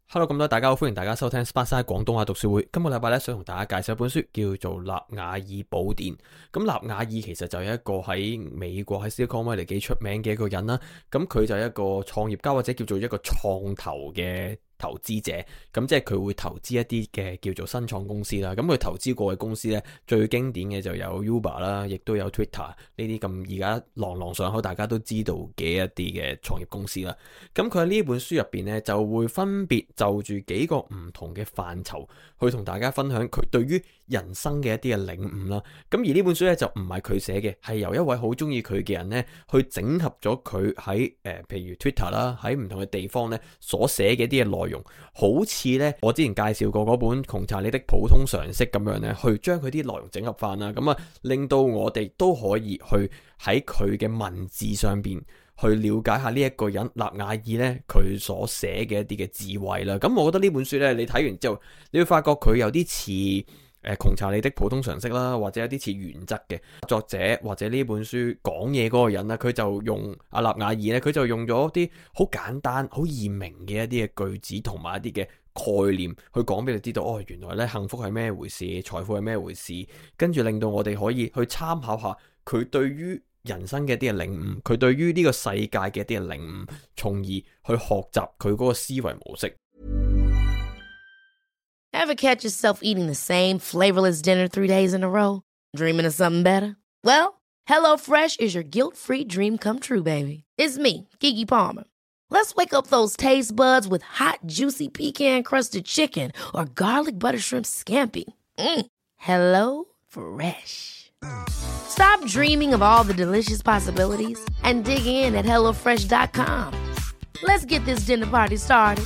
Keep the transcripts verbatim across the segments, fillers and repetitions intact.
Hello，咁多大家好，歡迎大家收聽 Sparkside 廣東話讀書會。今個禮拜咧，想同大家介紹一本書，叫做《納瓦爾寶典》。咁納瓦爾其實就係一個喺美國喺 Silicon Valley 幾出名嘅一個人啦。咁佢就係一個創業家或者叫做一個創投嘅投資者，咁即係佢會投資一啲嘅叫做新創公司啦。咁佢投資過嘅公司呢，最經典嘅就有 Uber 啦，亦都有 Twitter 呢啲咁而家朗朗上口大家都知道嘅一啲嘅創業公司啦。咁佢喺呢本書入邊呢，就會分別就住幾個唔同嘅範疇去同大家分享佢對於人生嘅一啲嘅領悟啦。咁而呢本書呢，就唔係佢寫嘅，係由一位好中意佢嘅人呢去整合咗佢喺誒譬如 Twitter 啦，喺唔同嘅地方呢所寫嘅一啲嘅內容，好似呢我之前介紹過嗰本《窮查理的普通常識》咁樣呢，去將佢啲內容整合翻啦，咁啊令到我哋都可以去喺佢嘅文字上邊去了解下呢一個人納瓦爾呢佢所寫嘅一啲嘅智慧啦。咁我覺得呢本書呢，你睇完之後，你會發覺佢有啲似誒窮查理的普通常識啦，或者有啲似原則嘅作者，或者呢本書講嘢嗰個人啦，佢就用阿納瓦爾呢，佢就用咗啲好簡單、好易明嘅一啲嘅句子同埋一啲嘅概念去講俾你知道，哦，原來咧幸福係咩回事，財富係咩回事，跟住令到我哋可以去參考下佢對於人生嘅一啲嘅領悟，佢對於呢個世界嘅一啲嘅領悟，從而去學習佢嗰個思維模式。 Ever catch yourself eating the same flavorless dinner three days in a row? Dreaming of something better? Well, HelloFresh is your guilt-free dream come true, baby. It's me, Keke Palmer. Let's wake up those taste buds with hot, juicy pecan-crusted chicken or garlic butter shrimp scampi. Mm. Hello Fresh. Stop dreaming of all the delicious possibilities and dig in at hello fresh dot com. Let's get this dinner party started.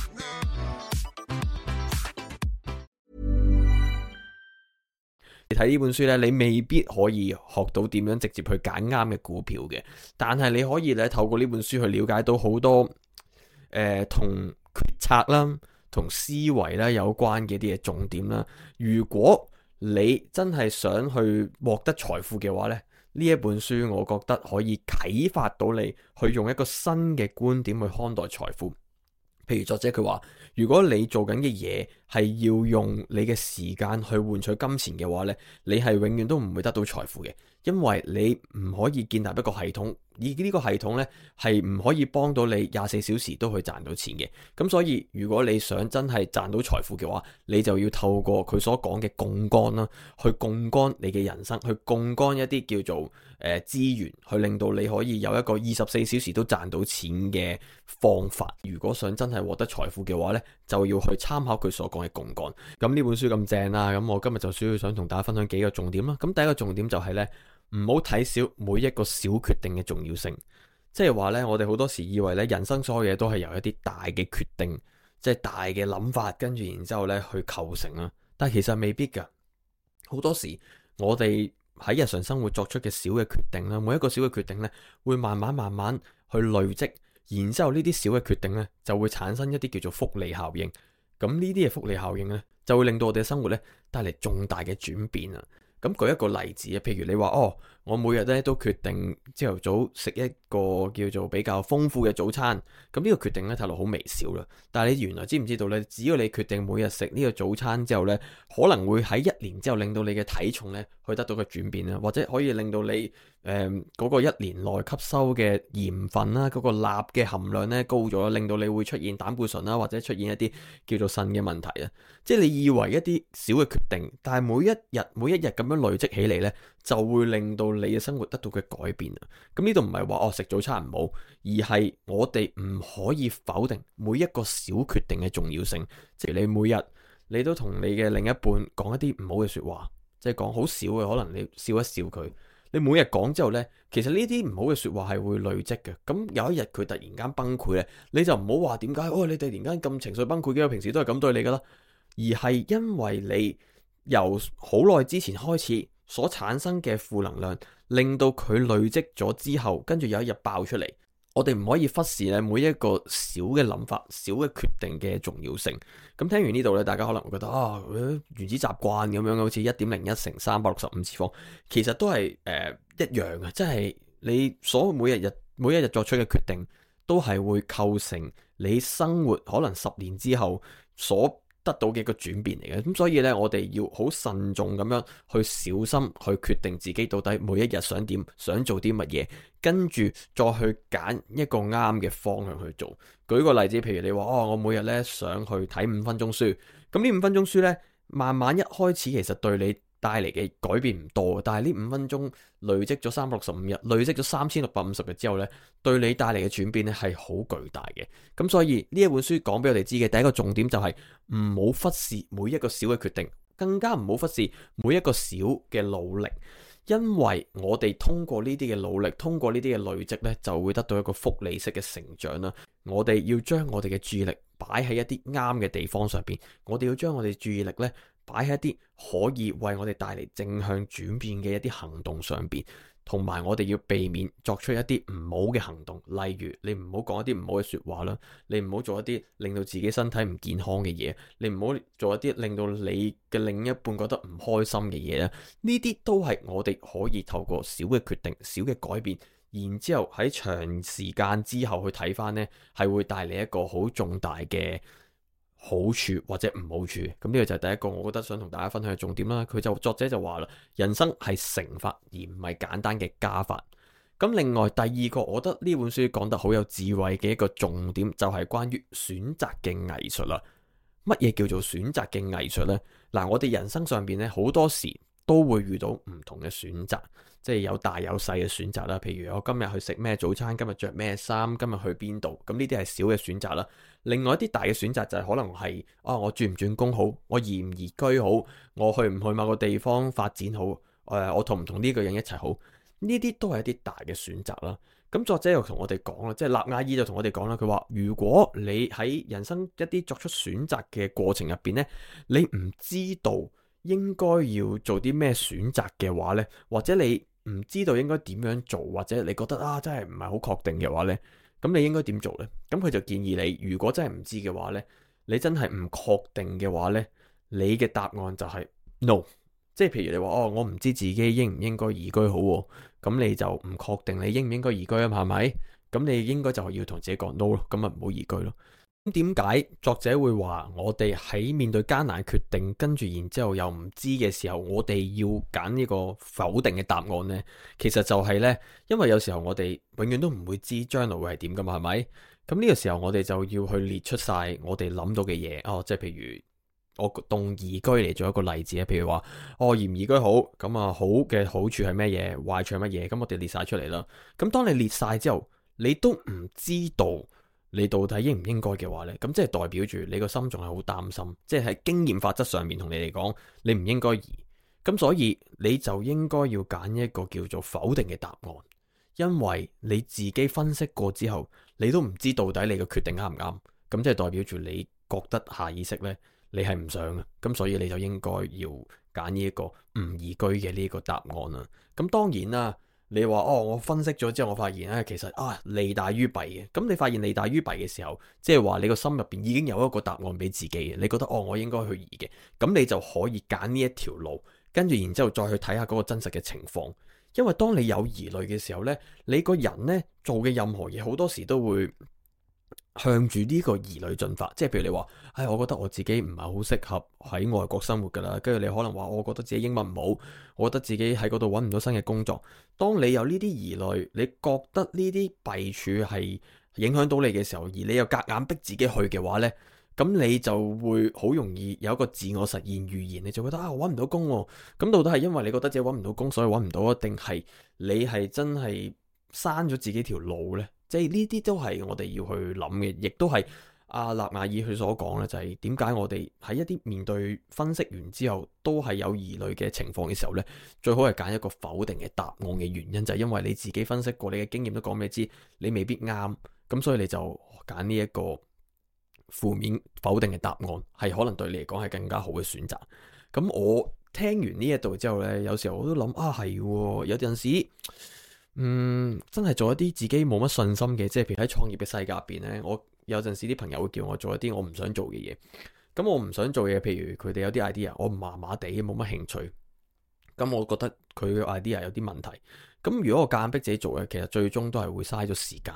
你睇呢本書呢，你未必可以學到點樣直接去揀啱嘅股票嘅，但係你可以咧透過呢本書去了解到好多誒同決策啦、同思維啦有關嘅啲嘢重點啦。如果你真係想去獲得財富嘅話呢，呢一本書我覺得可以啟發到你去用一個新嘅觀點去看待財富。譬如作者佢話，如果你做緊嘅嘢係要用你嘅時間去換取金錢嘅話呢，你係永遠都唔會得到財富嘅，因為你唔可以建立一個系統，而呢個系統呢係唔可以幫到你廿四小時都去賺到錢嘅。咁所以如果你想真係賺到財富嘅話，你就要透過佢所講嘅槓桿啦，去槓桿你嘅人生，去槓桿一啲叫做誒資源，去令到你可以有一個二十四小時都賺到錢嘅方法。如果想真係獲得財富嘅話呢，就要去參考佢所講嘅槓桿。咁呢本書咁正啦，咁我今日就主要想同大家分享幾個重點啦。咁第一個重點就係呢：唔好睇小每一個小決定嘅重要性。即係話呢，我哋好多時以為呢，人生所有嘢都係由一啲大嘅決定，即係大嘅諗法，跟住然之後呢去構成啦。但係其實未必噶，好多時我哋喺日常生活作出嘅小嘅決定啦，每一個小嘅決定呢，會慢慢慢慢去累積，然之後呢啲小嘅決定呢，就會產生一啲叫做複利效應。咁呢啲嘅複利效應呢，就會令到我哋嘅生活呢帶嚟重大嘅轉變啊！咁舉一個例子啊，譬如你話哦，我每日咧都決定朝頭早食一個叫做比較豐富嘅早餐，咁呢個決定咧睇落好微小啦。但係你原來知唔知道咧？只要你決定每日食呢個早餐之後咧，可能會喺一年之後令到你嘅體重咧去得到個轉變啦，或者可以令到你誒嗰、呃嗰個一年內吸收嘅鹽分啦，嗰、嗰個鈉嘅含量咧高咗，令到你會出現膽固醇啦，或者出現一啲叫做腎嘅問題啊。即係你以為一啲小嘅決定，但係每一日每一日咁樣累積起嚟呢，就會令到你嘅生活得到嘅改變啊！咁呢度唔係話哦食早餐唔好，而係我哋唔可以否定每一個小決定嘅重要性。即係你每日你都同你嘅另一半講一啲唔好嘅說話，即係講好少嘅，可能你笑一笑佢。你每日講之後呢，其實呢啲唔好嘅說話係會累積嘅。咁有一日佢突然間崩潰呢，你就唔好話點解哦，你突然間咁情緒崩潰嘅，我平時都係咁對你噶啦。而係因為你由好耐之前開始所產生嘅負能量，令到佢累積咗之後，跟住有一日爆出嚟。我哋唔可以忽視咧每一個小嘅諗法、小嘅決定嘅重要性。咁聽完呢度咧，大家可能會覺得啊，原子習慣咁樣，好似一點零一乘三百六十五次方，其實都係誒、呃、一樣嘅，即係你所每一日每一日作出嘅決定， 都係會構成你生活可能十年之後所得到嘅一個轉變嚟嘅。咁所以呢，我哋要好慎重咁樣去小心去決定自己到底每一日想點，想做啲乜嘢，跟住再去揀一個啱嘅方向去做。舉個例子，譬如你話哦，我每日呢想去睇五分鐘書，咁呢五分鐘書呢，慢慢一開始其實對你帶嚟嘅改變唔多，但係呢五分鐘累積咗三百六十五日，累積咗三千六百五十日之後呢，對你帶嚟嘅轉變呢係好巨大嘅。咁所以呢一本書講俾我哋知嘅第一個重點就係唔好忽視每一個小嘅決定，更加唔好忽視每一個小嘅努力，因為我哋通過呢啲嘅努力，通過呢啲嘅累積呢，就會得到一個複利式嘅成長啦。我哋要將我哋嘅注意力擺喺一啲啱嘅地方上邊，我哋要將我哋注意力呢擺喺一啲可以為我哋帶嚟正向轉變嘅一啲行動上邊，同埋我哋要避免作出一啲唔好嘅行動，例如你唔好講一啲唔好嘅說話啦，你唔好做一啲令到自己身體唔健康嘅嘢，你唔好做一啲令到你嘅另一半覺得唔開心嘅嘢啦。呢啲都係我哋可以透過小嘅決定、小嘅改變，然之後喺長時間之後去睇翻呢，係會帶嚟一個好重大嘅好處或者唔好處。咁呢個就係第一個我覺得想同大家分享嘅重點啦。佢就作者就話啦，人生係乘法而唔係簡單嘅加法。咁另外第二個我覺得呢本書講得好有智慧嘅一個重點就係關於選擇嘅藝術啦。乜嘢叫做選擇嘅藝術呢？嗱，我哋人生上邊咧好多時都會遇到唔同嘅選擇，即係有大有細嘅選擇啦。譬如我今日去食咩早餐，今日着咩衫，今日去邊度，咁呢啲係小嘅選擇啦。另外一啲大嘅選擇就係可能係啊，我轉唔轉工好，我移唔移居好，我去唔去某個地方發展好，誒、呃，我同唔同呢個人一齊好，呢啲都係一啲大嘅選擇啦。咁作者又同我哋講啦，即係納瓦爾就同我哋講啦，佢話如果你喺人生一啲作出選擇嘅過程入邊呢，你唔知道應該要做啲咩選擇嘅話呢，或者你唔知道應該點樣做，或者你覺得啊真係唔係好確定嘅話呢，咁你應該點做呢？咁佢就建議你，如果真係唔知嘅話呢，你真係唔確定嘅話呢，你嘅答案就係 no。即係譬如你話哦，我唔知自己應唔應該移居好，咁你就唔確定你應唔應該移居啊？係咪？咁你應該就要同自己講 no 咯，咁咪唔好移居咯。咁點解作者會話我哋喺面對艱難決定，跟住然之後又唔知嘅時候，我哋要揀呢個否定嘅答案呢？其實就係呢，因為有時候我哋永遠都唔會知將來會係點噶嘛，係咪？咁呢個時候我哋就要去列出晒我哋諗到嘅嘢，哦，即係譬如我當移居嚟做一個例子啊，譬如話哦，移唔移居好，咁啊好嘅好處係咩嘢，壞處係乜嘢，咁我哋列晒出嚟啦。咁當你列晒之後，你都唔知道你到底應唔應該嘅話呢，咁即係代表住你個心仲係好擔心，即係喺經驗法則上面同你嚟講，你唔應該移，咁所以你就應該要揀一個叫做否定嘅答案，因為你自己分析過之後，你都唔知到底你嘅決定啱唔啱，咁即係代表住你覺得下意識呢，你係唔想嘅，咁所以你就應該要揀呢一個唔移居嘅呢個答案啦。咁當然啦。你話哦，我分析咗之後，我發現咧，其實啊利大於弊嘅。咁你發現利大於弊嘅時候，即係話你個心入邊已經有一個答案俾自己嘅，你覺得哦，我應該去移嘅，咁你就可以揀呢一條路，跟住然之後再去睇下嗰個真實嘅情況。因為當你有疑慮嘅時候呢，你個人呢做嘅任何嘢，好多時都會向住呢個疑慮進發，即係譬如你話，唉，我覺得我自己唔係好適合喺外國生活噶啦，跟住你可能話，我覺得自己英文唔好，我覺得自己喺嗰度揾唔到新嘅工作。當你有呢啲疑慮，你覺得呢啲弊處係影響到你嘅時候，而你又夾硬逼自己去嘅話呢，咁你就會好容易有一個自我實現預言，你就覺得啊，我揾唔到工喎，咁到底係因為你覺得自己揾唔到工，所以揾唔到啊，定係你係真係刪咗自己條路呢？即係呢啲都係我哋要去諗嘅，亦都係阿納瓦爾佢所講咧，就係點解我哋喺一啲面對分析完之後都係有疑慮嘅情況嘅時候呢，最好係揀一個否定嘅答案嘅原因，就係因為你自己分析過，你嘅經驗都講俾你知，你未必啱，咁所以你就揀呢一個負面否定嘅答案，係可能對你嚟講係更加好嘅選擇。咁我聽完呢一度之後呢，有時候我都諗啊，係有陣時。嗯，真係做一啲自己冇乜信心嘅，即係譬如喺創業嘅世界入邊呢，我有陣時啲朋友會叫我做一啲我唔想做嘅嘢。咁我唔想做嘅嘢，譬如佢哋有啲 idea，我麻麻地冇乜興趣。咁我覺得佢嘅 idea 有啲問題。咁如果我夾硬逼自己做嘅，其實最終都係會嘥咗時間。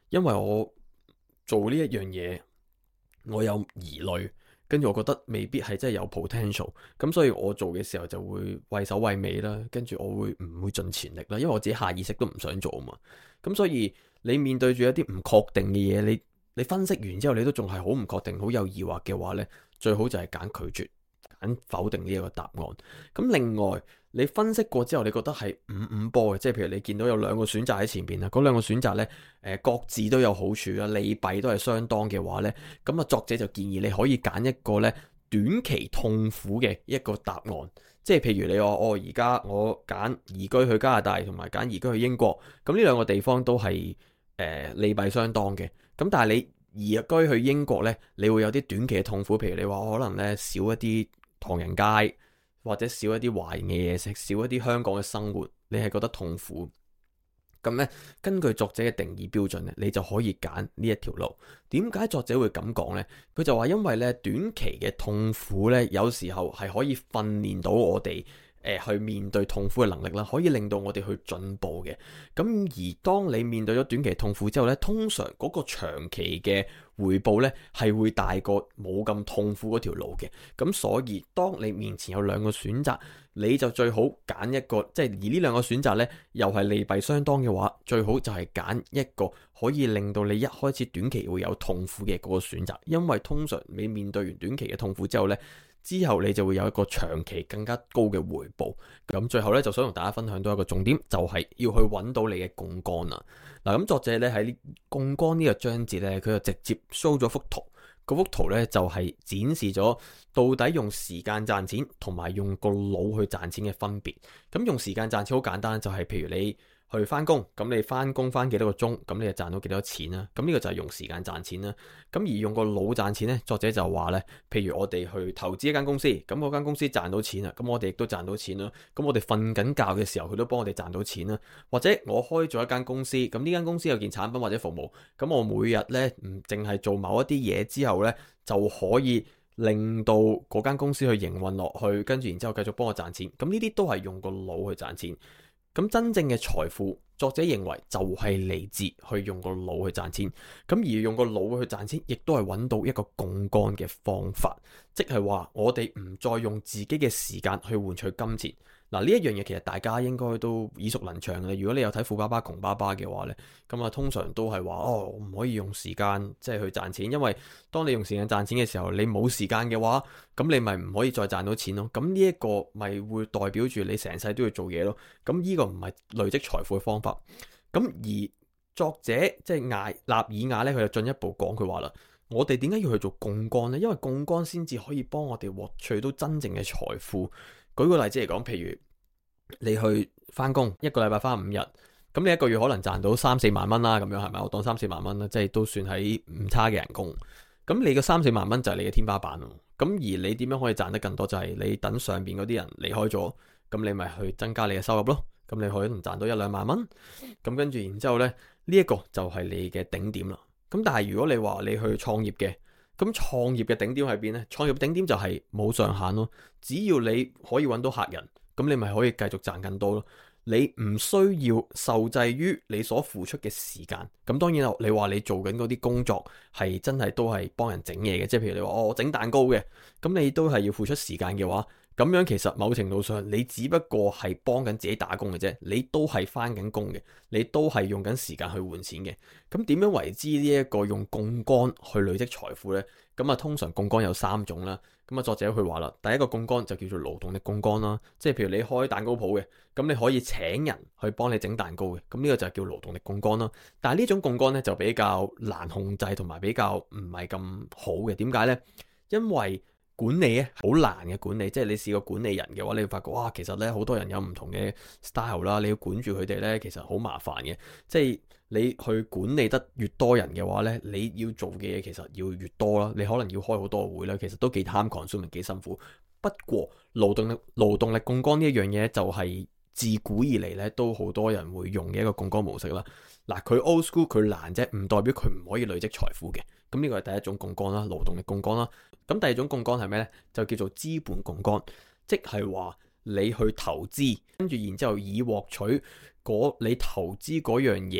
因為我做呢一樣嘢，我有疑慮，跟住我覺得未必係真係有 potential，咁所以我做嘅時候就會畏首畏尾啦，跟住我會唔會盡全力啦，因為我自己下意識都唔想做啊嘛。咁所以你面對住一啲唔確定嘅嘢，你你分析完之後，你都仲係好唔確定、好有疑惑嘅話呢，最好就係揀拒絕、揀否定呢一個答案。咁另外，你分析過之後，你覺得係五五波嘅，即係譬如你見到有兩個選擇喺前邊啦，嗰兩個選擇呢，誒各自都有好處啦，利弊都係相當嘅話呢，咁啊作者就建議你可以揀一個呢短期痛苦嘅一個答案，即係譬如你話哦，而家我揀移居去加拿大同埋揀移居去英國，咁呢兩個地方都係誒、呃、利弊相當嘅，咁但係你移居去英國呢，你會有啲短期嘅痛苦，譬如你話可能呢少一啲唐人街。或者少一啲華人嘅嘢食，少一啲香港嘅生活，你係覺得痛苦。咁咧，根據作者嘅定義標準咧，你就可以揀呢一條路。點解作者會咁講呢？佢就話因為咧短期嘅痛苦咧，有時候係可以訓練到我哋。誒去面對痛苦嘅能力啦，可以令到我哋去進步嘅。咁而當你面對咗短期痛苦之後呢，通常嗰個長期嘅回報呢係會大過冇咁痛苦嗰條路嘅。咁所以當你面前有兩個選擇，你就最好揀一個，即係而呢兩個選擇呢又係利弊相當嘅話，最好就係揀一個可以令到你一開始短期會有痛苦嘅嗰個選擇，因為通常你面對完短期嘅痛苦之後呢。之後你就會有一個長期更加高嘅回報。咁最後咧就想同大家分享到一個重點，就係要去揾到你嘅槓桿啦。嗱，咁作者咧喺槓桿呢個章節咧，佢就直接 show 咗幅圖。嗰幅圖咧就係展示咗到底用時間賺錢同埋用個腦去賺錢嘅分別。咁用時間賺錢好簡單，就係譬如你去翻工，咁你翻工翻幾多個鐘，咁你就賺到幾多錢啦。咁呢個就係用時間賺錢啦。咁而用個腦賺錢呢，作者就話呢，譬如我哋去投資一間公司，咁嗰間公司賺到錢啦，咁我哋亦都賺到錢啦。咁我哋瞓緊覺嘅時候，佢都幫我哋賺到錢啦。或者我開咗一間公司，咁呢間公司有件產品或者服務，咁我每日呢唔淨係做某一啲嘢之後呢，就可以令到嗰間公司去營運落去，跟住然之後繼續幫我賺錢。咁呢啲都係用個腦去賺錢。咁真正嘅財富，作者認為就係嚟自去用個腦去賺錢。咁而用個腦去賺錢，亦都係揾到一個槓桿嘅方法，即係話我哋唔再用自己嘅時間去換取金錢。嗱，呢一樣嘢其實大家應該都耳熟能詳嘅。如果你有睇富爸爸窮爸爸嘅話呢，咁啊通常都係話哦，唔可以用時間即係去賺錢，因為當你用時間賺錢嘅時候，你冇時間嘅話，咁你咪唔可以再賺到錢咯。咁呢一個咪會代表住你成世都要做嘢咯。咁呢個唔係累積財富嘅方法。咁而作者即係艾納爾亞呢，佢就進一步講佢話啦，我哋點解要去做槓桿呢？因為槓桿先至可以幫我哋獲取到真正嘅財富。舉個例子嚟講，譬如你去翻工一個禮拜翻五日，咁你一個月可能賺到三四萬蚊啦，咁樣係咪？我當三四萬蚊啦，即係都算係唔差嘅人工。咁你嘅三四萬蚊就係你嘅天花板咯。咁而你點樣可以賺得更多？就係你等上邊嗰啲人離開咗，咁你咪去增加你嘅收入咯。咁你可能賺到一兩萬蚊。咁跟住然之後呢，呢一個就係你嘅頂點啦。咁但係如果你話你去創業嘅，咁創業嘅頂點喺邊呢？創業頂點就係冇上限咯。只要你可以揾到客人，咁你咪可以繼續賺更多咯。你唔需要受制於你所付出嘅時間。咁當然啦，你話你做緊嗰啲工作係真係都係幫人整嘢嘅，即係譬如你話哦，我整蛋糕嘅，咁你都係要付出時間嘅話，咁樣其實某程度上你只不過係幫緊自己打工嘅啫，你都係翻緊工嘅，你都係用緊時間去換錢嘅。咁點樣為之呢一個用槓桿去累積財富呢？咁啊，通常槓桿有三種啦。咁啊，作者佢話啦，第一個槓桿就叫做勞動力槓桿啦，即係譬如你開蛋糕鋪嘅，咁你可以請人去幫你整蛋糕嘅，咁呢個就叫勞動力槓桿啦。但係呢種槓桿呢，就比較難控制同埋比較唔係咁好嘅。點解呢？因為管理咧好難嘅管理，即係你試過管理人嘅話，你會發覺哇，其實咧好多人有唔同嘅 style 啦，你要管住佢哋咧，其實好麻煩嘅。即係你去管理得越多人嘅話咧，你要做嘅嘢其實要越多啦，你可能要開好多會啦，其實都幾 time consuming，幾辛苦。不過勞動力勞動力槓桿呢一樣嘢就係自古以嚟咧都好多人會用嘅一個槓桿模式啦。嗱，佢 old school 佢難啫，唔代表佢唔可以累積財富嘅。咁呢個係第一種槓桿啦，勞動力槓桿啦。咁第二種槓桿係咩呢？就叫做資本槓桿，即係話你去投資，跟住然之後以獲取嗰你投資嗰樣嘢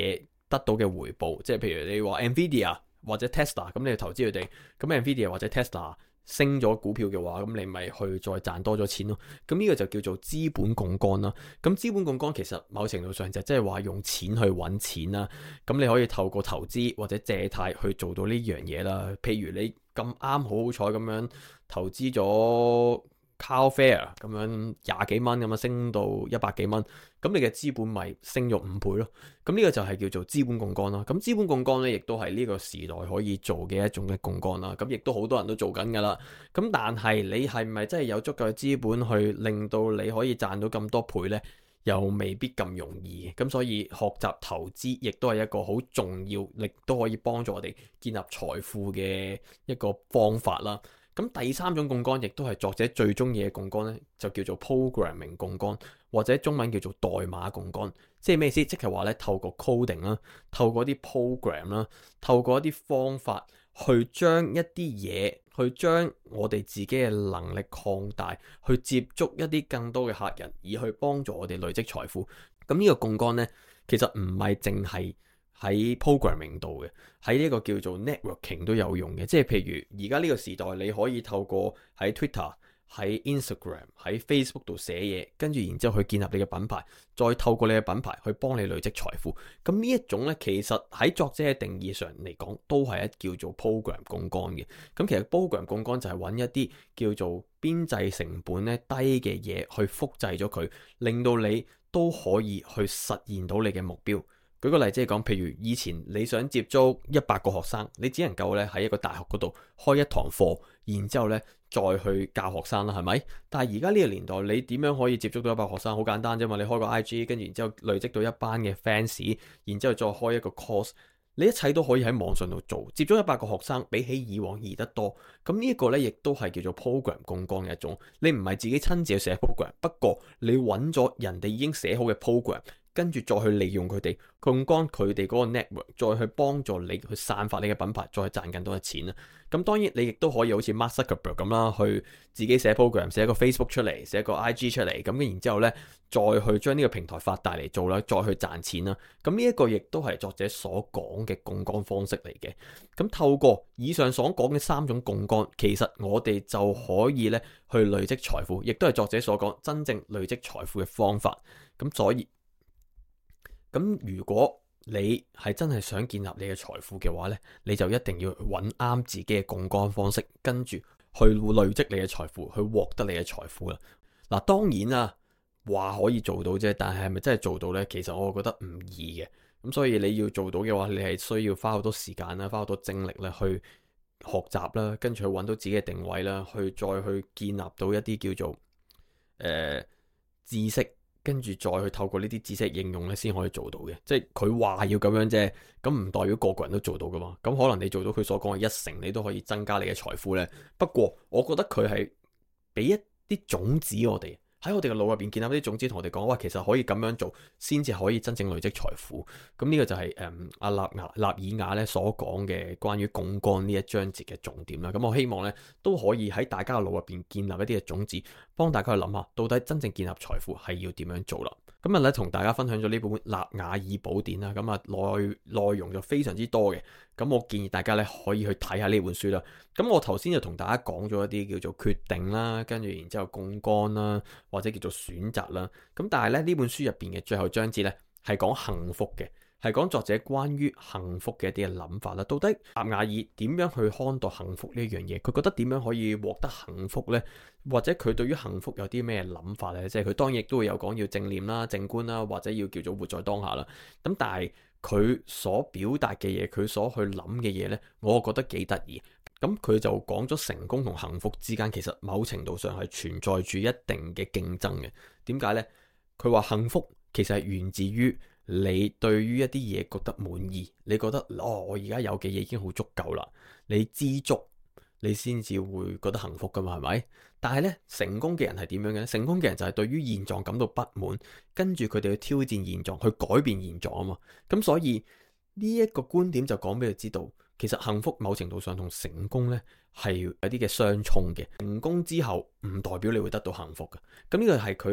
得到嘅回報。即係譬如你話 Nvidia 或者 Tesla， 咁你投資佢哋，咁 Nvidia 或者 Tesla 升咗股票嘅話，咁你咪去再賺多咗錢咯。咁呢個就叫做資本槓桿啦。咁資本槓桿其實某程度上就即係話用錢去揾錢啦。咁你可以透過投資或者借貸去做到呢樣嘢啦。譬如你咁啱好好彩咁樣投資咗Cloudflare咁樣廿幾蚊咁樣升到一百幾蚊，咁你嘅資本咪升咗五倍咯。咁呢個就係叫做資本槓桿啦。咁資本槓桿咧，亦都係呢個時代可以做嘅一種嘅槓桿啦。咁亦都好多人都做緊噶啦。咁但係你係咪真係有足夠嘅資本去令到你可以賺到咁多倍呢？又未必咁容易。咁所以學習投資亦都係一個好重要，亦都可以幫助我哋建立財富嘅一個方法啦。咁第三種槓桿亦都係作者最中意嘅槓桿咧，就叫做 programming 槓桿，或者中文叫做代碼槓桿。即係咩意思？即係話咧，透過 coding 啦，透過啲 program 啦，透過一啲方法去將一啲嘢，去將我哋自己嘅能力擴大，去接觸一啲更多嘅客人，而去幫助我哋累積財富。咁呢個槓桿咧，其實唔係淨係喺 programming 度嘅，喺呢個叫做 networking 都有用嘅。即係譬如而家呢個時代，你可以透過喺 Twitter、喺 Instagram、喺 Facebook 度寫嘢，跟住然之後去建立你嘅品牌，再透過你嘅品牌去幫你累積財富。咁呢一種呢，其實喺作者嘅定義上嚟講，都係一叫做 program 槓桿嘅。咁其實 program 槓桿就係揾一啲叫做邊際成本咧低嘅嘢去複製咗佢，令到你都可以去實現到你嘅目標。舉個例子嚟講，譬如以前你想接觸一百個學生，你只能夠咧喺一個大學嗰度開一堂課，然之後咧再去教學生啦，係咪？但係而家呢個年代，你點樣可以接觸到一百學生？好簡單啫嘛，你開個 I G， 跟住然之後累積到一班嘅 fans， 然之後再開一個 course， 你一切都可以喺網上度做。接觸一百個學生，比起以往易得多。咁呢一個咧，亦都係叫做 program 槓桿嘅一種。你唔係自己親自去寫 program， 不過你揾咗人哋已經寫好嘅 program。跟住再去利用佢哋，槓桿佢哋嗰個 network，再去幫助你去散發你嘅品牌，再賺更多嘅錢啦。咁當然你亦都可以好似 Mark Zuckerberg 咁啦，去自己寫 program， 寫一個 Facebook 出嚟，寫一個 I G 出嚟，咁然之後呢，再去將呢個平台發大嚟做啦，再去賺錢啦。咁呢一個亦都係作者所講嘅槓桿方式嚟嘅。咁透過以上所講嘅三種槓桿，其實我哋就可以呢去累積財富，亦都係作者所講真正累積財富嘅方法。咁所以咁如果你係真係想建立你嘅財富嘅話呢，你就一定要揾啱自己嘅槓桿方式，跟住去累積你嘅財富，去獲得你嘅財富啦。嗱，當然啦，話可以做到啫，但係係咪真係做到呢？其實我覺得唔易嘅。咁所以你要做到嘅話，你係需要花好多時間啦，花好多精力啦，去學習啦，跟住去揾到自己嘅定位啦，去再去建立到一啲叫做誒、呃、知識。跟住再去透過呢啲知識應用咧，先可以做到嘅。即係佢話要咁樣啫，咁唔代表個個人都做到噶嘛。咁可能你做到佢所講嘅一成，你都可以增加你嘅財富呢。不過我覺得佢係俾一啲種子我哋喺我哋嘅腦入邊建立啲種子，同我哋講，哇，其實可以咁樣做，先至可以真正累積財富。咁呢個就係誒阿納亞納爾雅咧所講嘅關於槓桿呢一章節嘅重點啦。咁我希望咧都可以喺大家嘅腦入邊建立一啲嘅種子，幫大家去諗下，到底真正建立財富係要點樣做啦。今日咧同大家分享咗呢本《納瓦爾寶典》啦，咁啊內內容就非常之多嘅，咁我建議大家咧可以去睇下呢本書啦。咁我頭先就同大家講咗一啲叫做決定啦，跟住然之後槓桿啦，或者叫做選擇啦。咁但係咧呢本書入邊嘅最後章節咧係講幸福嘅。係講作者關於幸福嘅一啲嘅諗法啦。到底納瓦爾點樣去看待幸福呢樣嘢？佢覺得點樣可以獲得幸福呢？或者佢對於幸福有啲咩諗法呢？即係佢當然亦都會有講要正念啦、正觀啦，或者要叫做活在當下啦。咁但係佢所表達嘅嘢，佢所去諗嘅嘢呢，我覺得幾得意。咁佢就講咗成功同幸福之間，其實某程度上係存在住一定嘅競爭嘅。點解呢？佢話幸福其實係源自於你對於一啲嘢覺得滿意，你覺得哦，我而家有嘅嘢已經好足夠啦，你知足，你先至會覺得幸福噶嘛，係咪？但係咧，成功嘅人係點樣嘅咧？成功嘅人就係對於現狀感到不滿，跟住佢哋去挑戰現狀，去改變現狀啊嘛。咁所以呢一個觀點就講俾佢知道，其實幸福某程度上同成功咧係有啲嘅相衝嘅。成功之後唔代表你會得到幸福嘅。咁呢個係佢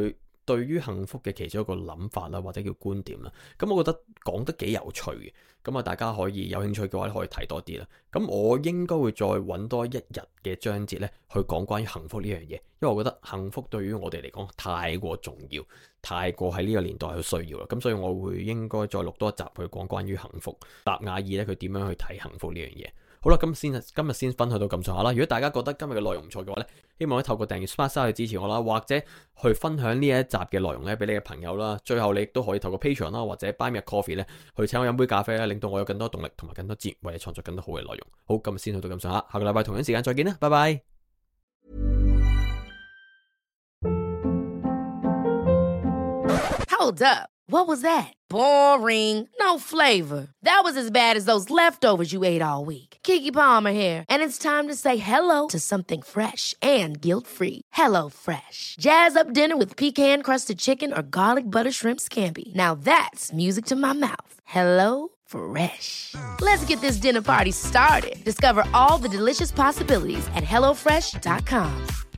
對於幸福嘅其中一個諗法啦，或者叫觀點啦。咁我覺得講得幾有趣嘅，咁啊大家可以有興趣嘅話可以睇多啲啦。咁我應該會再揾多一日嘅章節咧去講關於幸福呢樣嘢，因為我覺得幸福對於我哋嚟講太過重要，太過喺呢個年代去需要啦。咁所以我會應該再錄多一集去講關於幸福。達瓦爾咧佢點樣去睇幸福呢樣嘢。好啦，咁先今日先分享到咁上下啦。如果大家覺得今日嘅內容唔錯嘅話咧，希望可以透過訂閱 Sparksine 去支持我啦，或者去分享呢一集嘅內容咧俾你嘅朋友啦。最後你亦都可以透過 Patreon 啦，或者 Buy Me a Coffee 咧去請我飲杯咖啡啦，令到我有更多動力同埋更多資源為你創作更多好嘅內容。好，今日先去到咁上下，下個禮拜同樣時間再見啦，拜拜。 Hold up. What was that? Boring. No flavor. That was as bad as those leftovers you ate all week. Keke Palmer here, and it's time to say hello to something fresh and guilt-free. Hello Fresh. Jazz up dinner with pecan-crusted chicken or garlic butter shrimp scampi. Now that's music to my mouth. Hello Fresh. Let's get this dinner party started. Discover all the delicious possibilities at hello fresh dot com.